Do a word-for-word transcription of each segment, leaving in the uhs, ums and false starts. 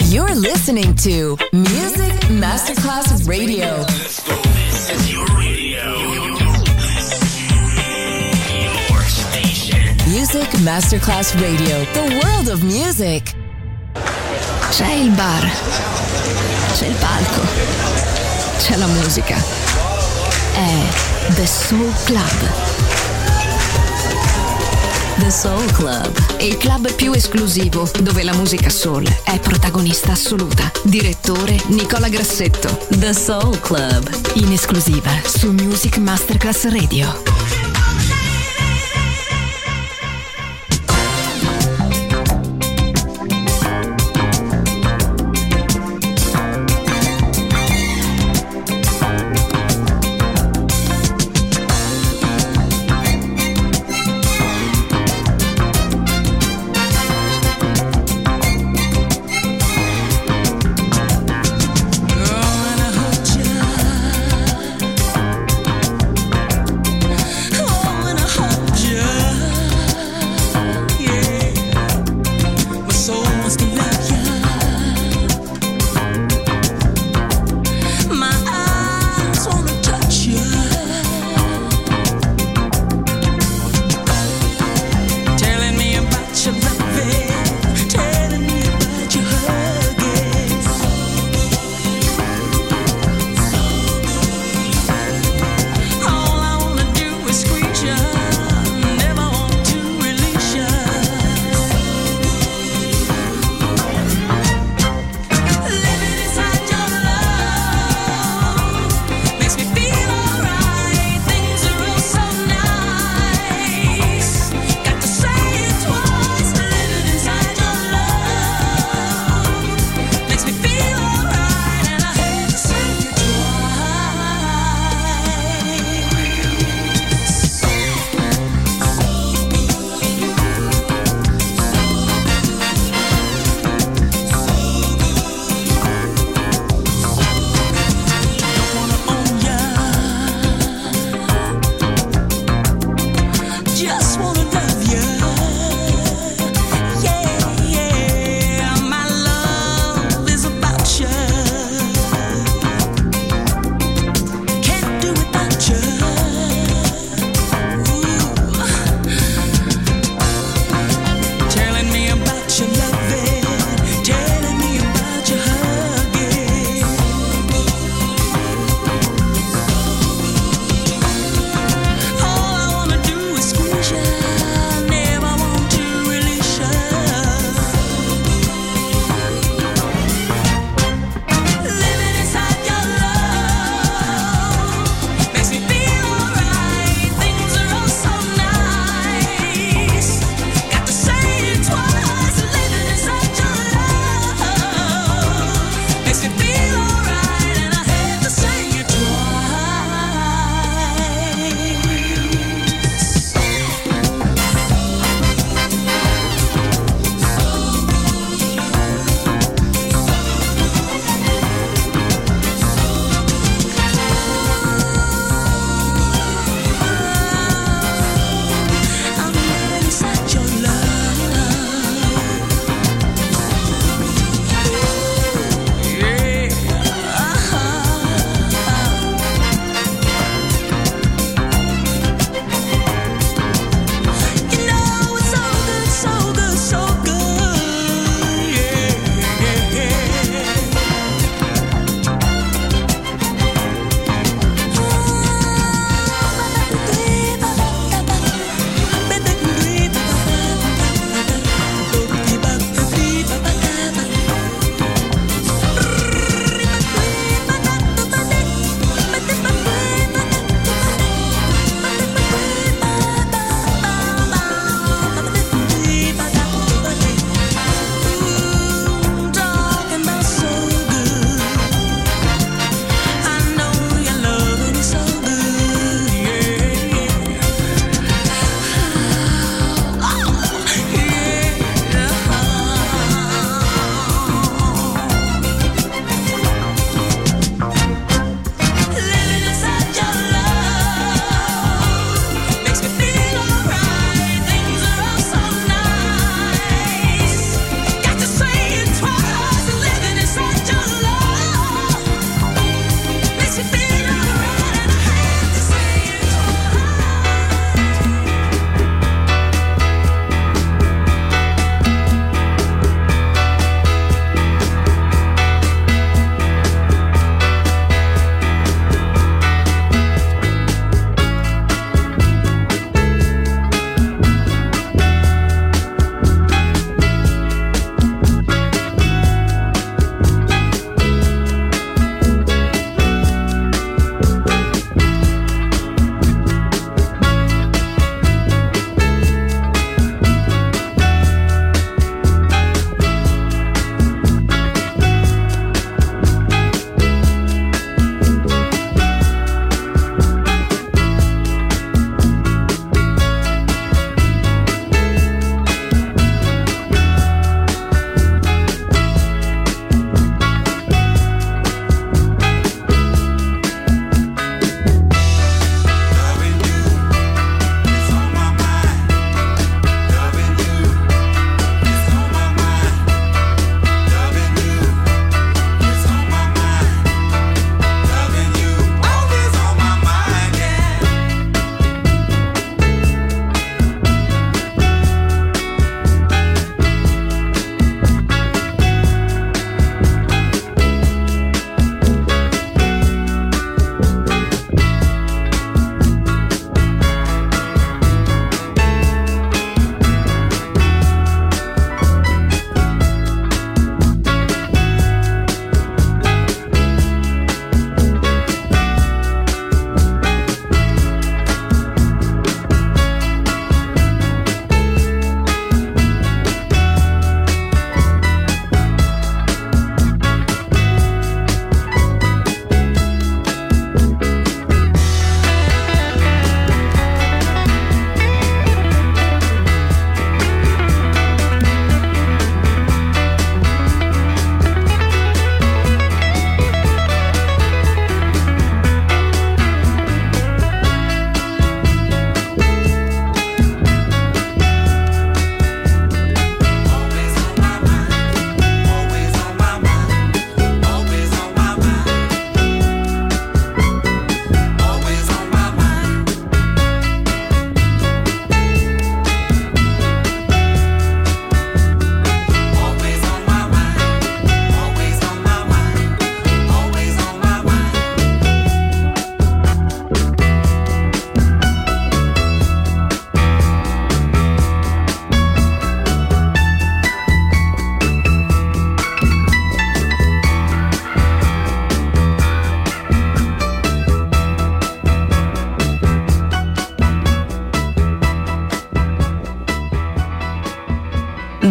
You're listening to Music Masterclass Radio. Let's go. This is your radio. Your station. Music Masterclass Radio. The world of music. C'è il bar. C'è il palco. C'è la musica. È The Soul Club. The Soul Club. Il club più esclusivo dove la musica soul è protagonista assoluta. Direttore Nicola Grassetto. The Soul Club. In esclusiva su Music Masterclass Radio.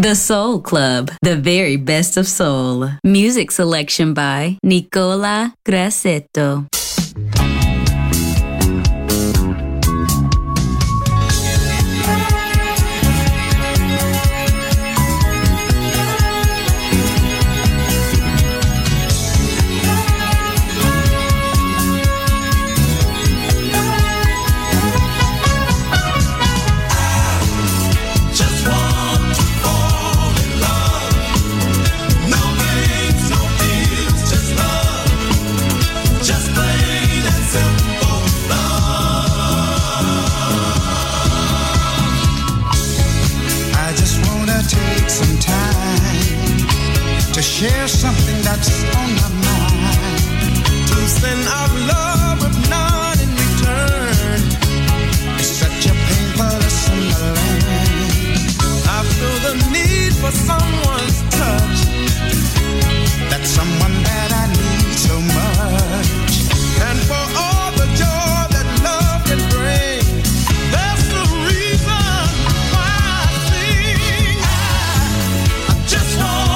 The Soul Club, the very best of soul. Music selection by Nicola Grassetto. To share something that's on my mind, to send out love with none in return. It's such a painful lesson to learn. I feel the need for someone's touch, that someone that I need so much, and for all the joy that love can bring. That's the reason why I sing. I, I just want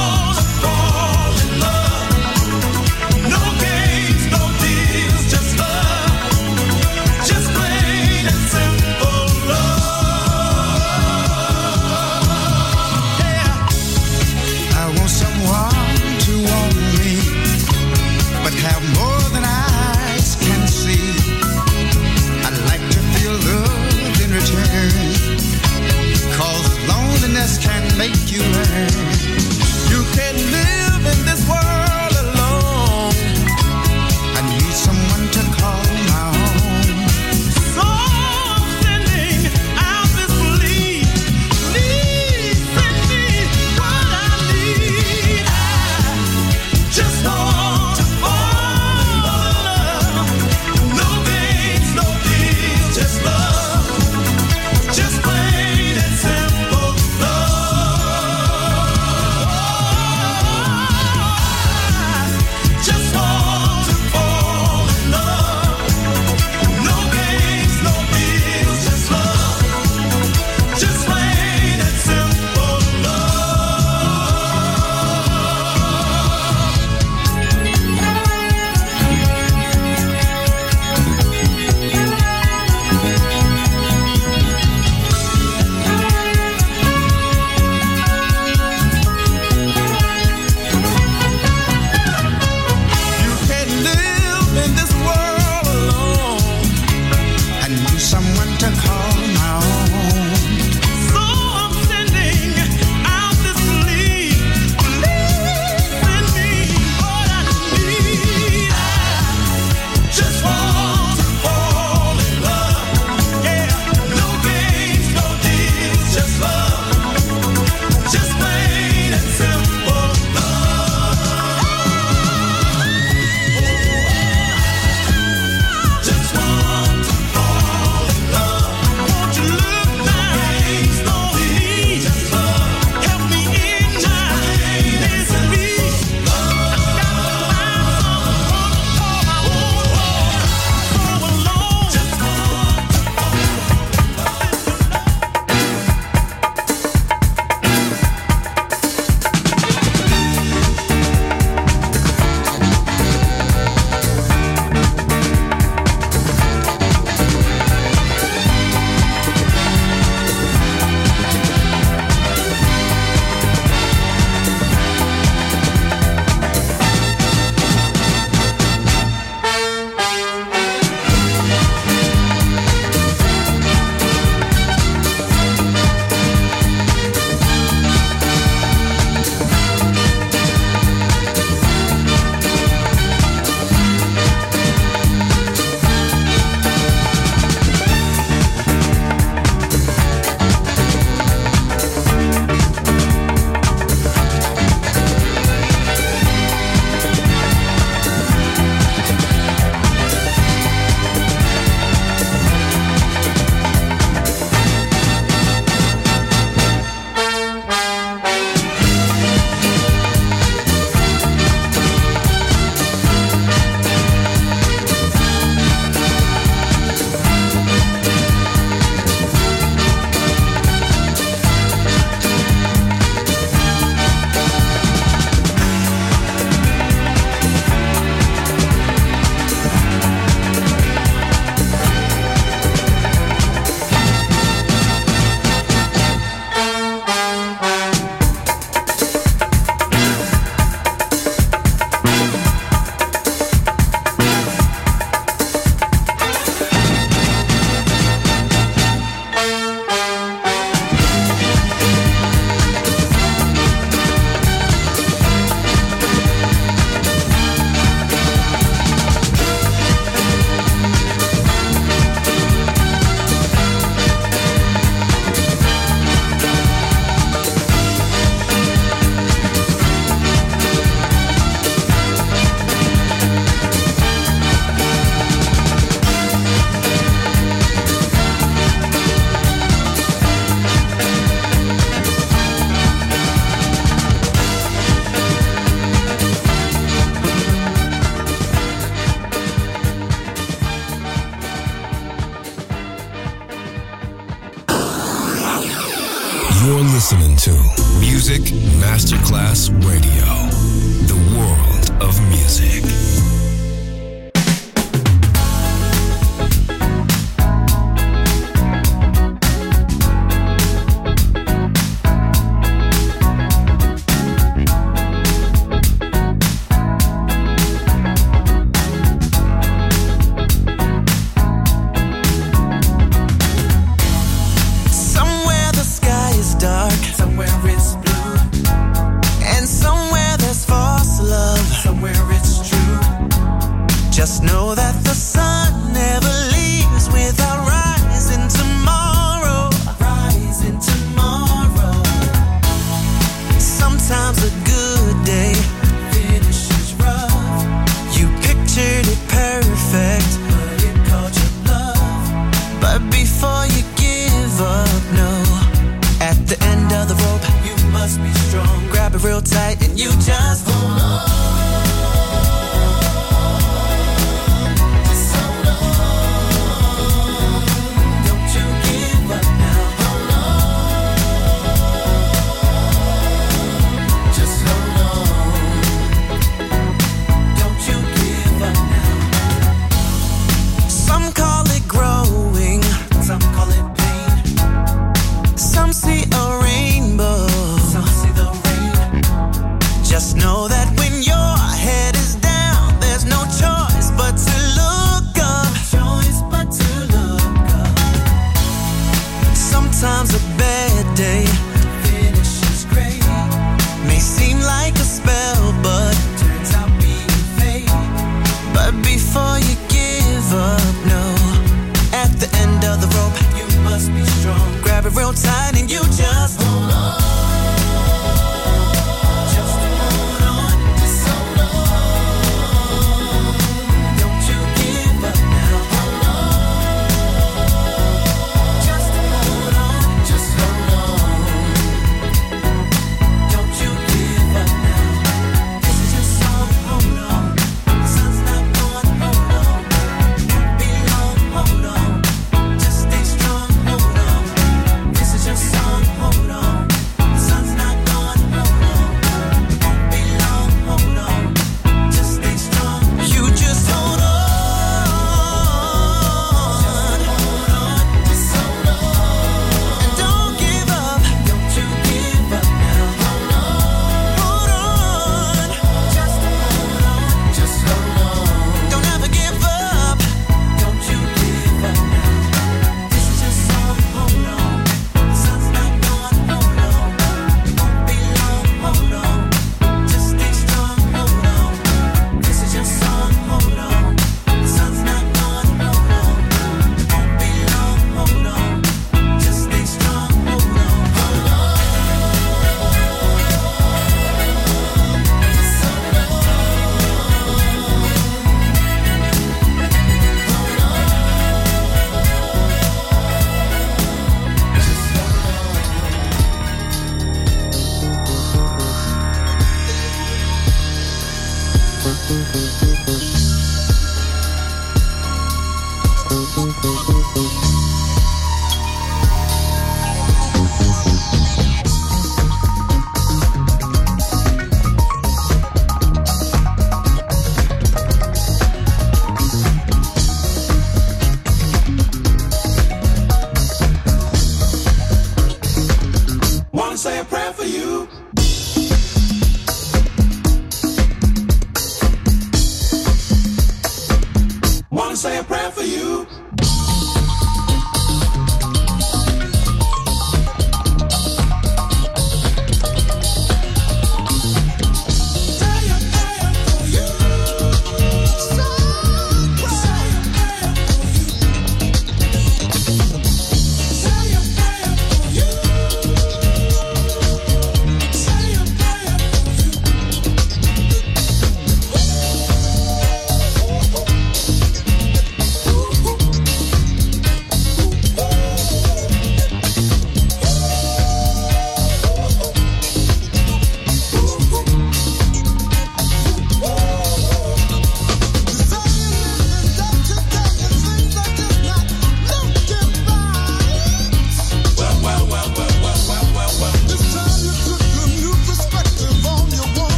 listening to Music Masterclass Radio, the world of music.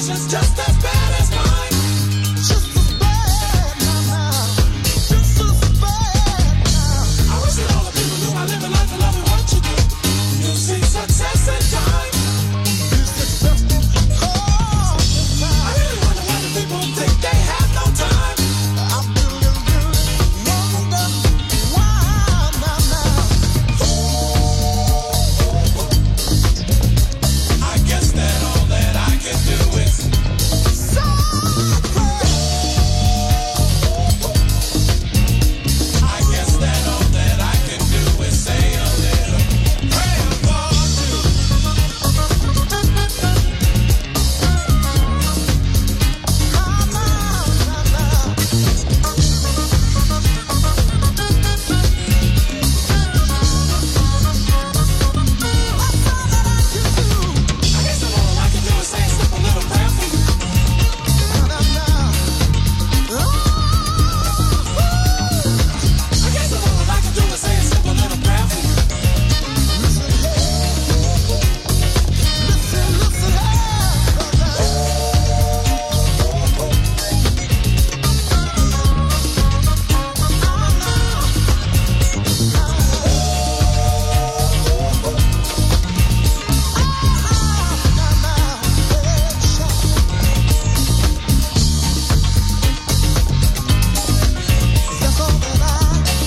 situation's just as bad as mine. Just as bad now, just as bad now. I wish that all the people knew I live a life of loving what you do. You see success in time. You successful all the time. I really wonder why the people think they have no time. I really, really wonder why now, now. I guess that all that I can do is suffer. I guess that all that I can do is say a little prayer for you. I guess that all I can do is say a simple little prayer for you. I guess that all I can do is say a simple little prayer for you. Listen, listen, that's all that I,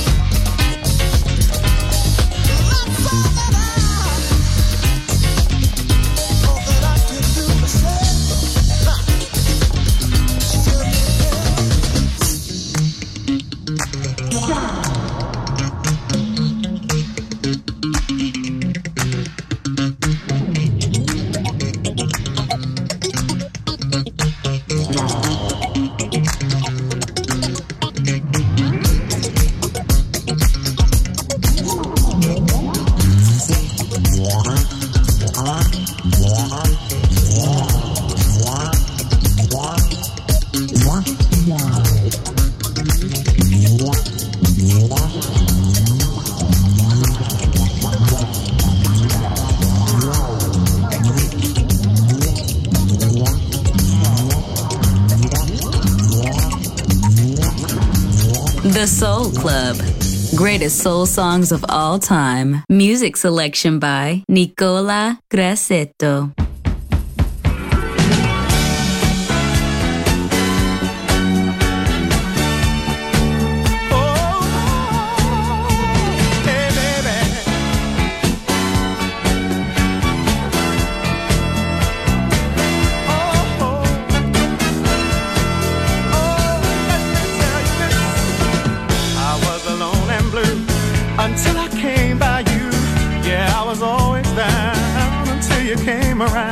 that's all that I, all that I can do is say, The Soul Club. Greatest soul songs of all time. Music selection by Nicola Grassetto. hey baby. Oh, oh, oh, let me tell you this. I was alone and blue until I came by you. Yeah, I was always down until you came around.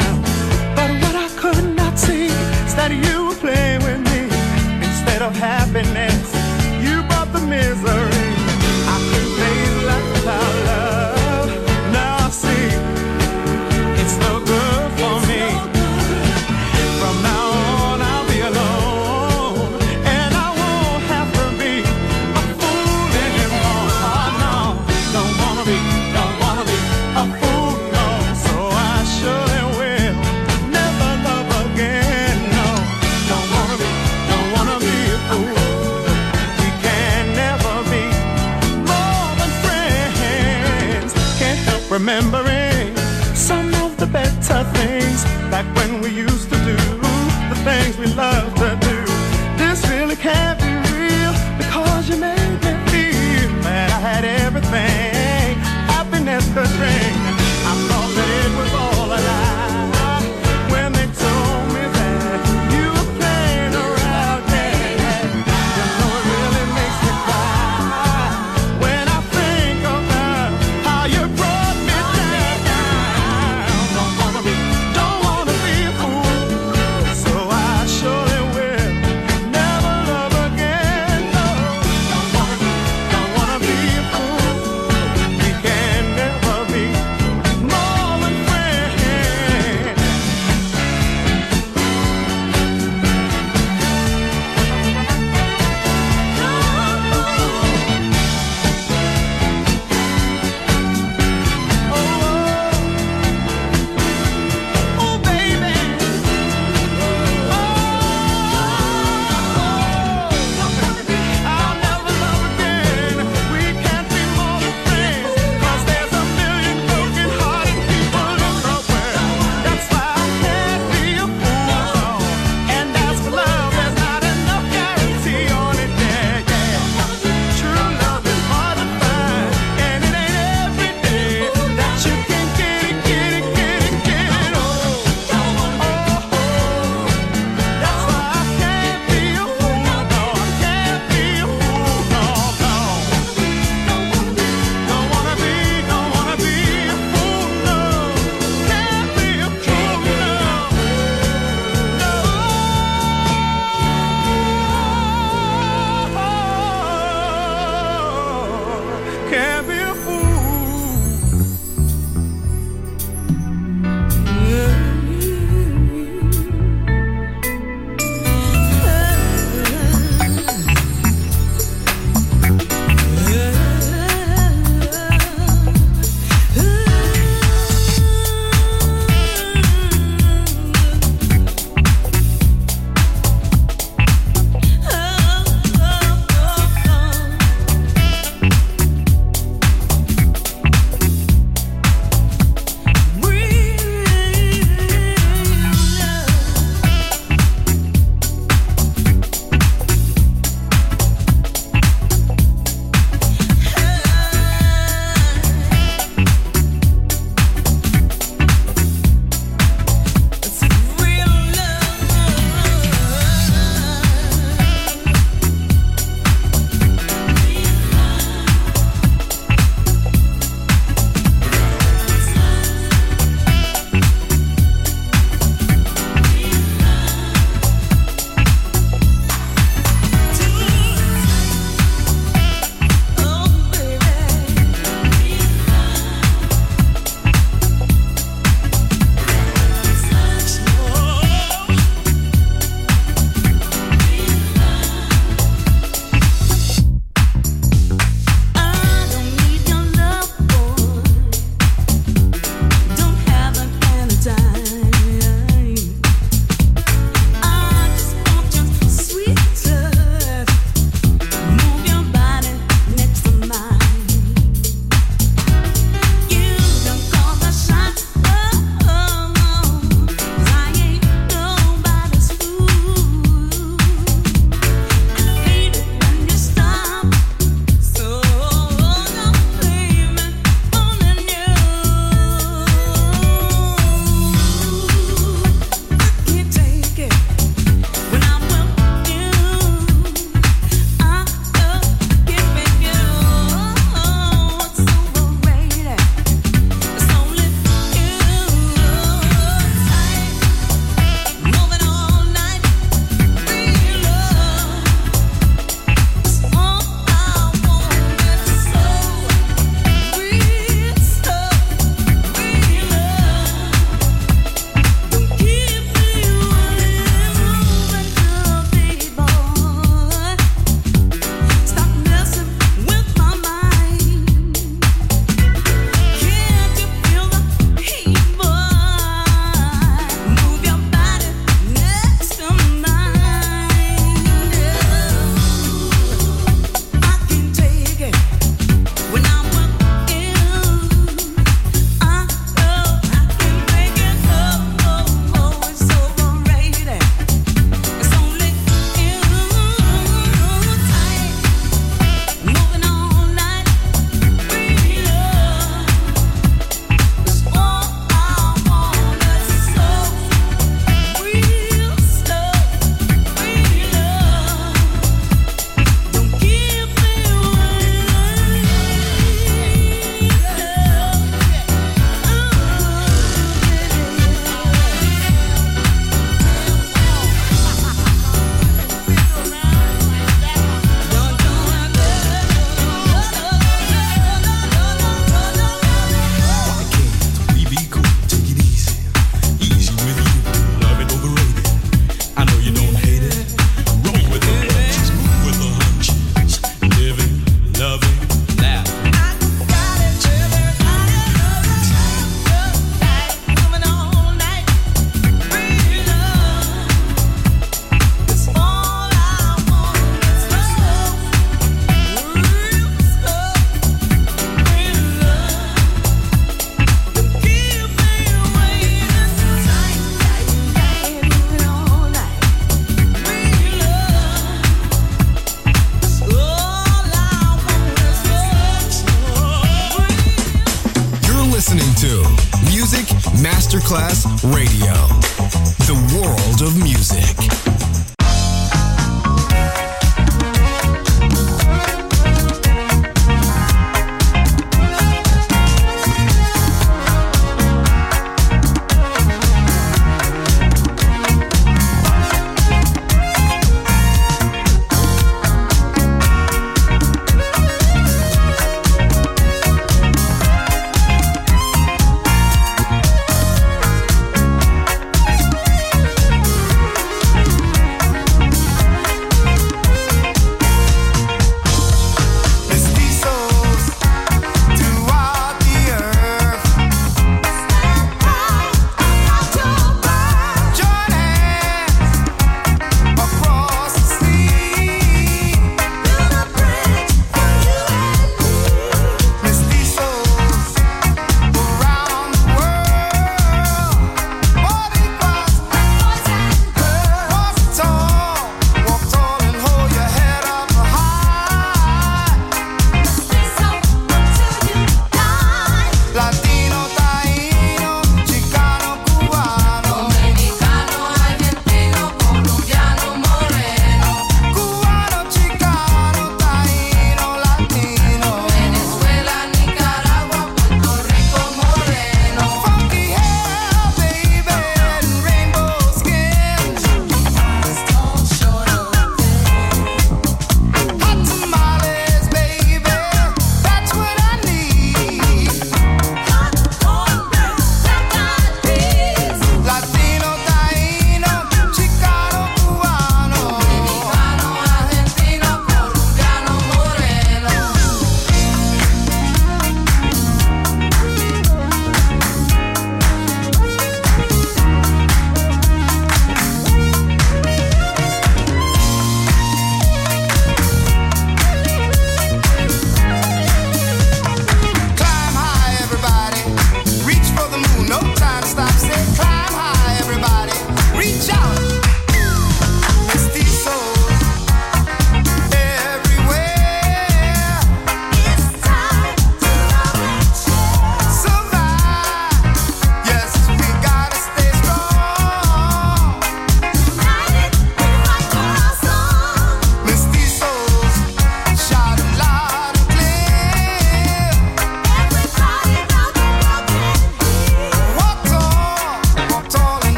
Masterclass Radio. The world of music.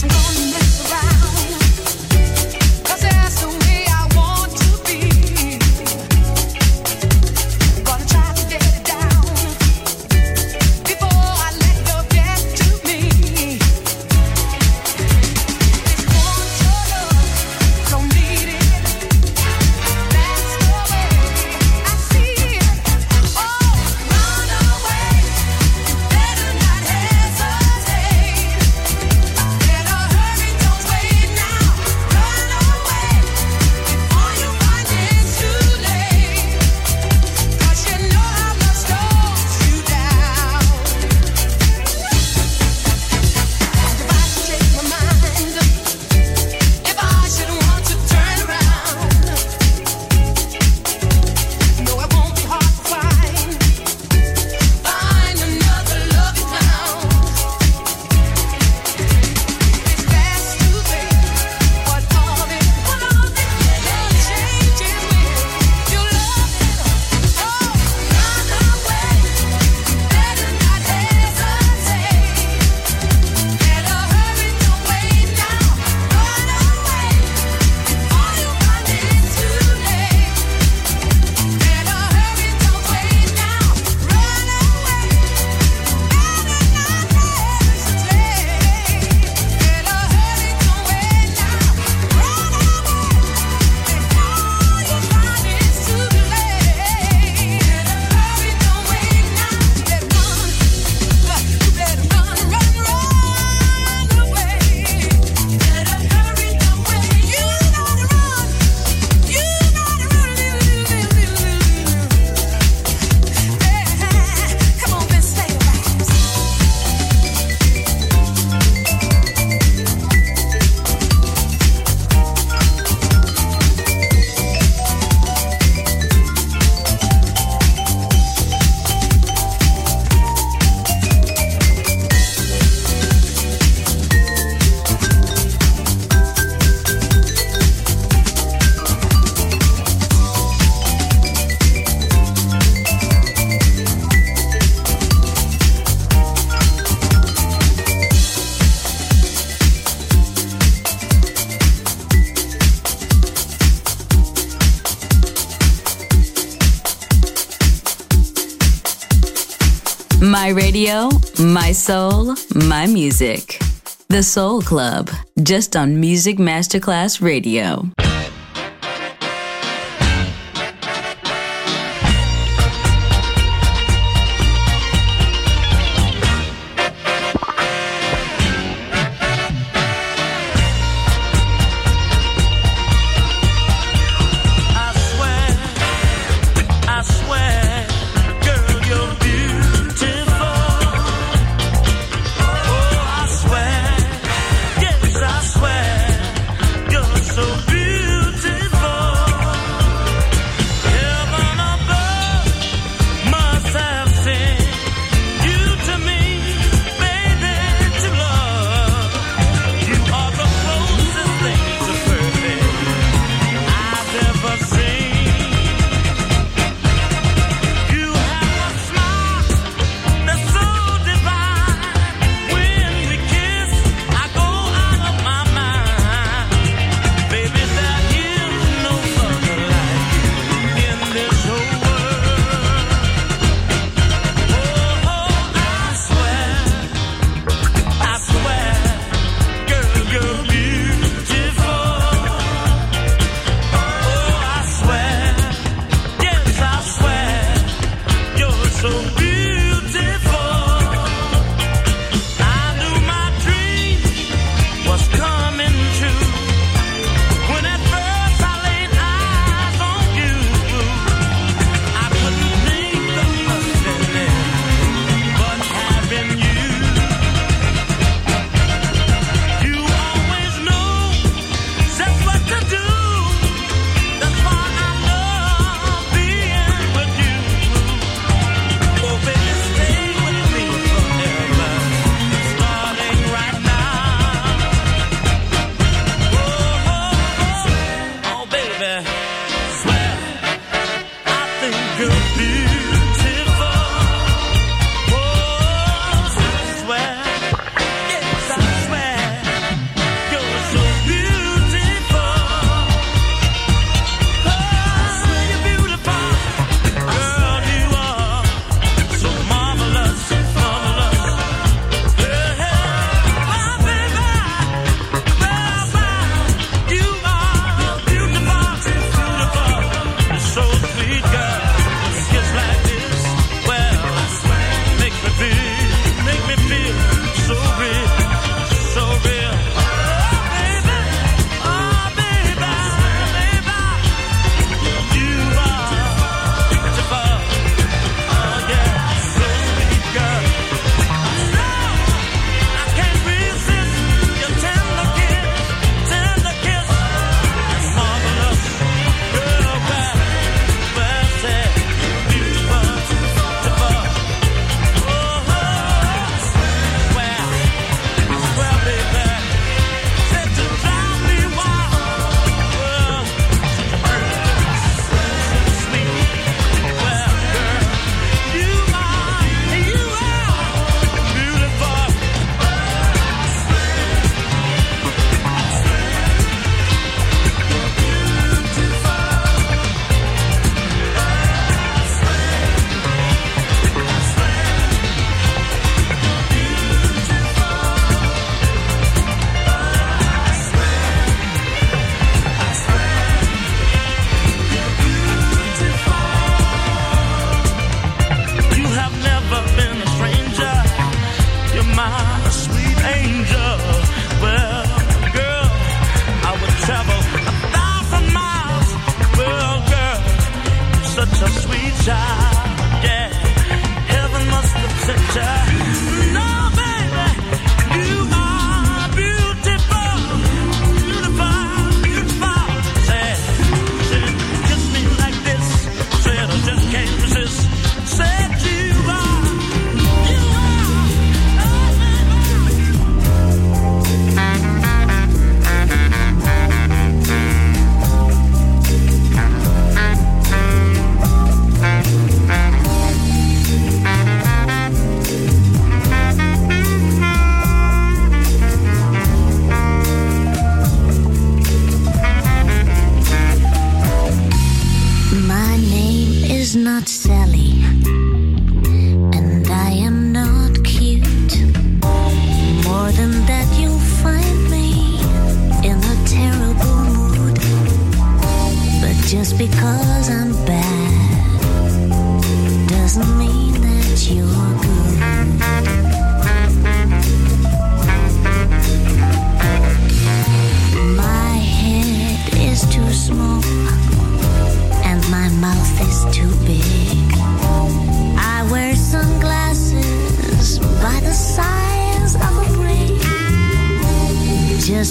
My radio, my soul, my music. The Soul Club, just on Music Masterclass Radio. So beautiful.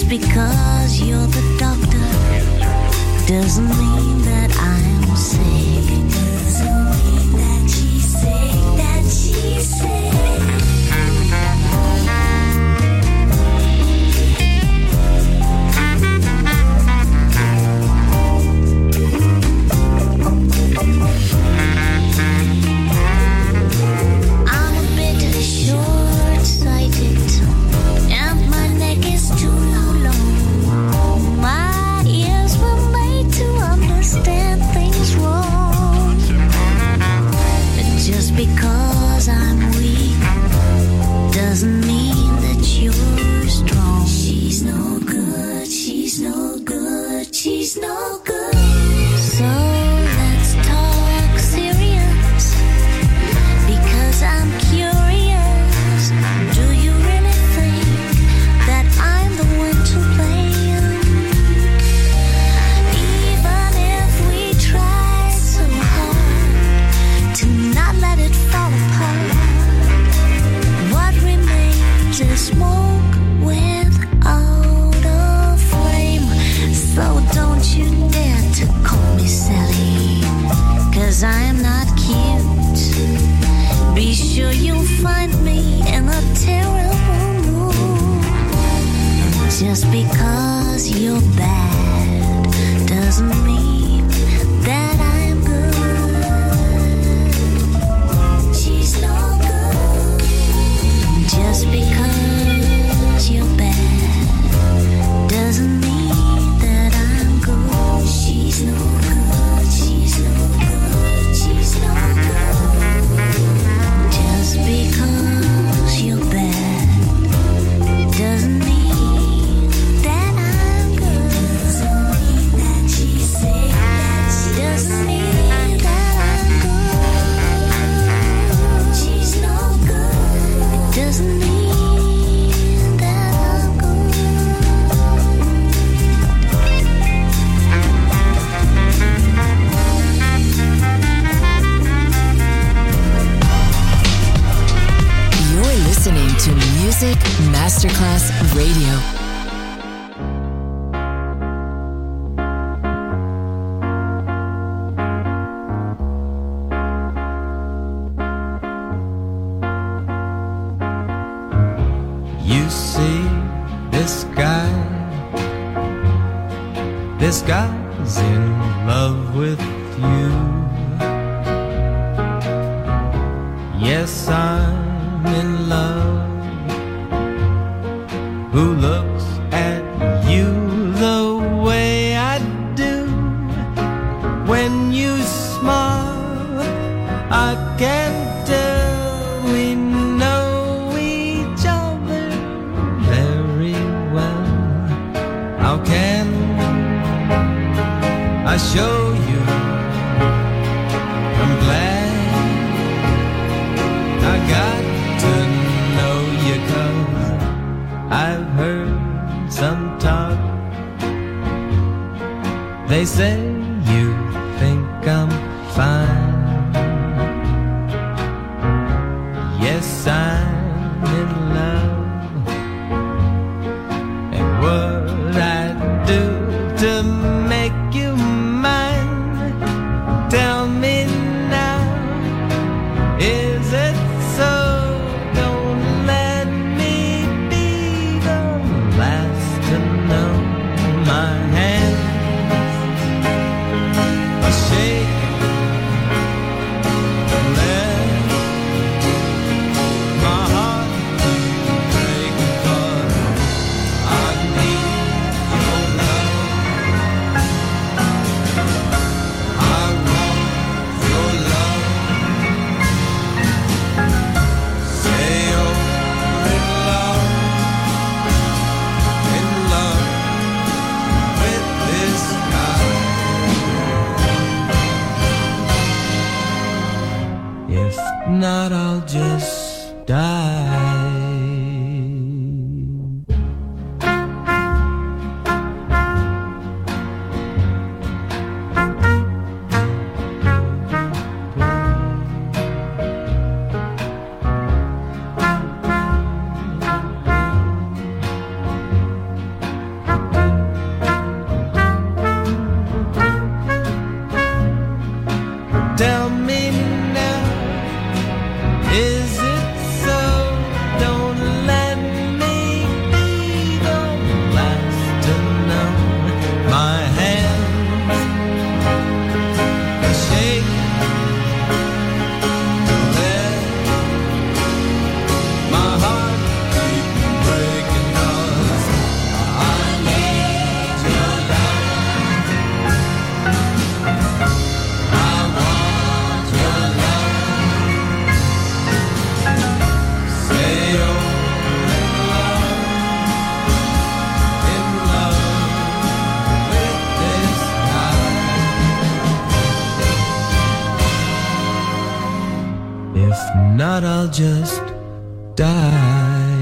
Just because you're the doctor doesn't mean that I'm sick. Doesn't mean that she's sick, that she's sick. I'm a bit short-sighted and my neck is too long. My ears were made to understand things wrong. But just because I'm weak doesn't mean that you're strong. She's no good, she's no good, she's no good. So let's talk serious, because I'm curious. Do you really think that I'm the one to blame? Even if we try so hard to not let it fall apart, what remains is smoke without a flame. So don't you dare to call me Sally, 'cause I'm not cute. Be sure you'll find me in a terrible mood. Just because you're bad doesn't mean that I'm good. She's no good. Just because you're bad doesn't mean that I'm good. She's no good. She's no good. She's no good. Just because you're bad doesn't mean that I'm good. Doesn't mean that she's sick. Doesn't mean that I'm good. She's no good. Doesn't mean that I'm good. You're listening to Music Masterclass Radio. You see this guy, this guy's in love with you. Yes, I'm in love. Who looks at you the way I do? When you smile, I can tell we know each other very well. How can I show you I'm glad I got to know you, 'cause I've heard some talk. They say you think I'm fine. Yes, I'm in love. And what I do to make you mine? Tell me now, is it so? Don't let me be the last to know. My hands are shaking. Don't let my heart break, but I need your love. I want your love. Say you're in love, in love with this guy. If not, I'll just die. I'll just die.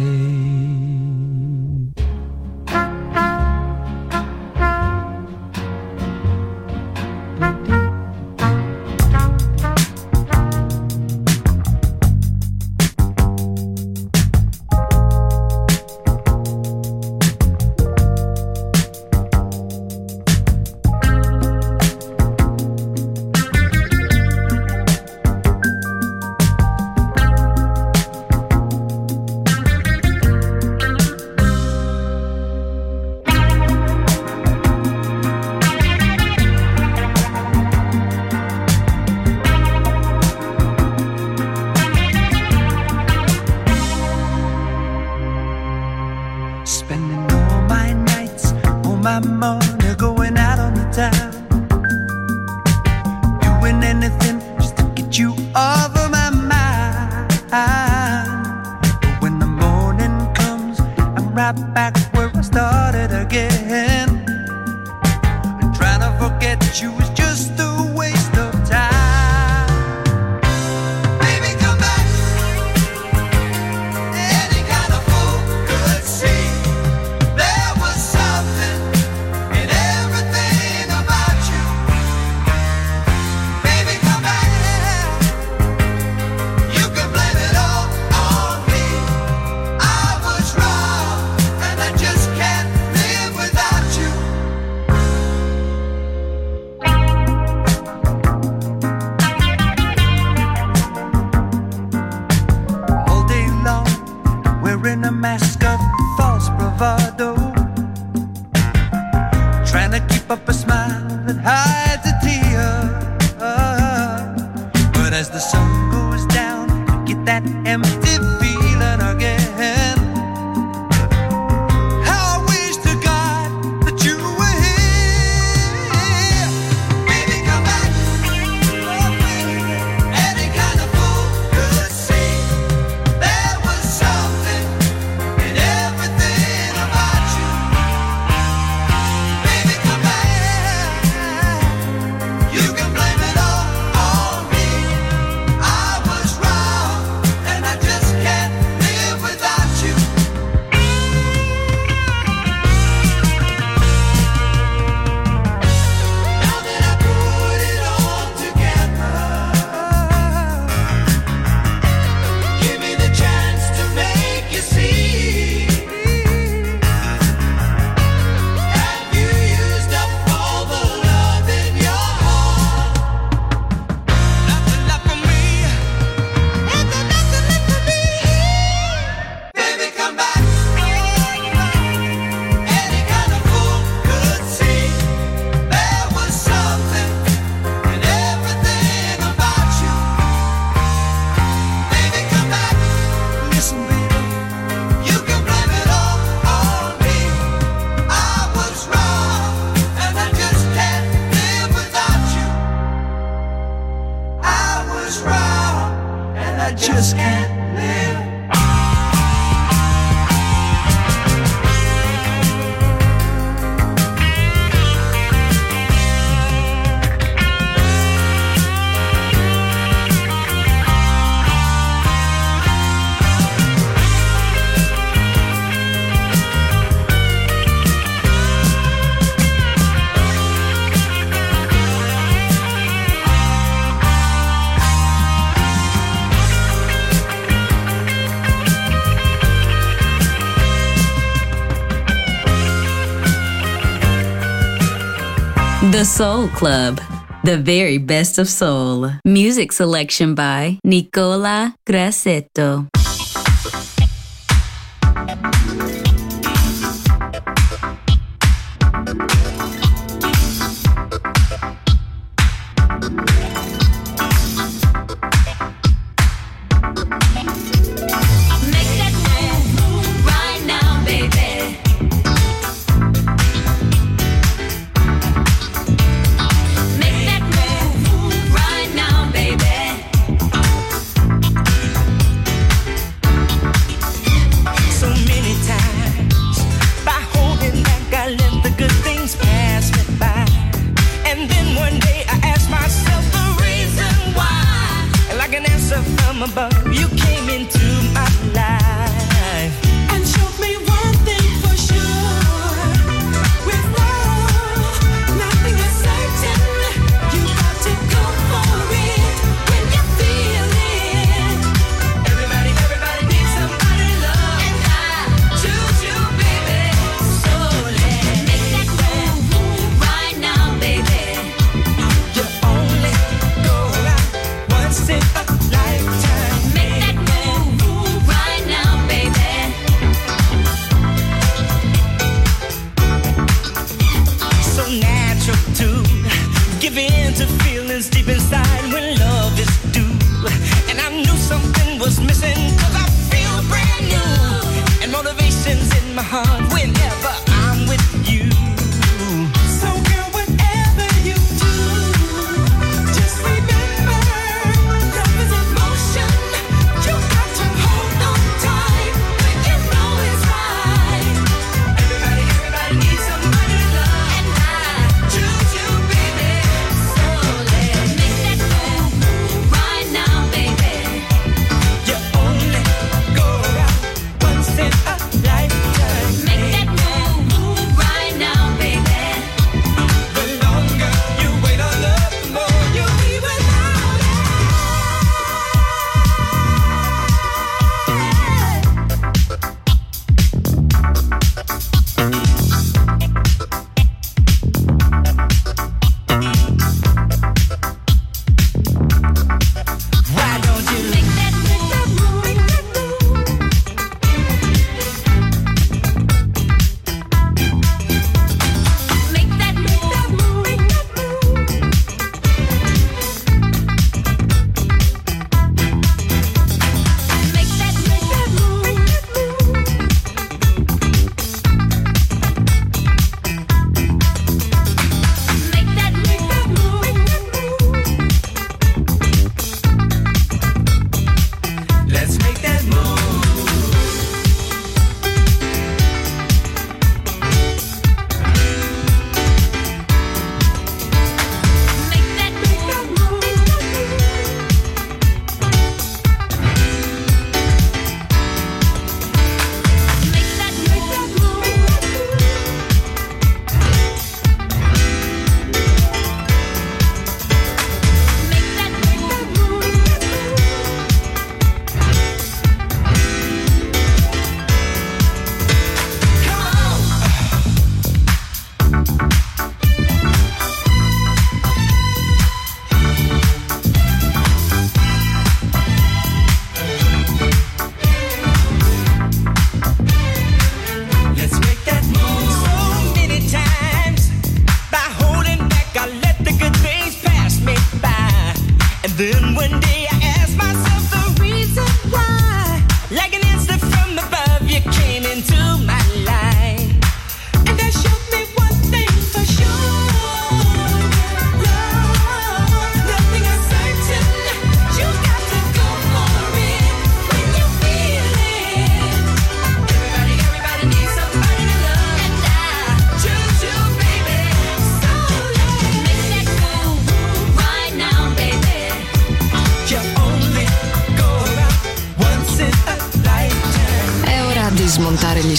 The Soul Club, the very best of soul. Music selection by Nicola Grassetto.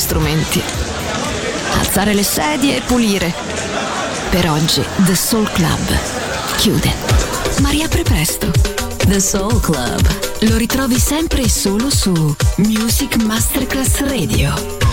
strumenti, alzare le sedie e pulire. Per oggi The Soul Club chiude, ma riapre presto. The Soul Club. Lo ritrovi sempre e solo su Music Masterclass Radio.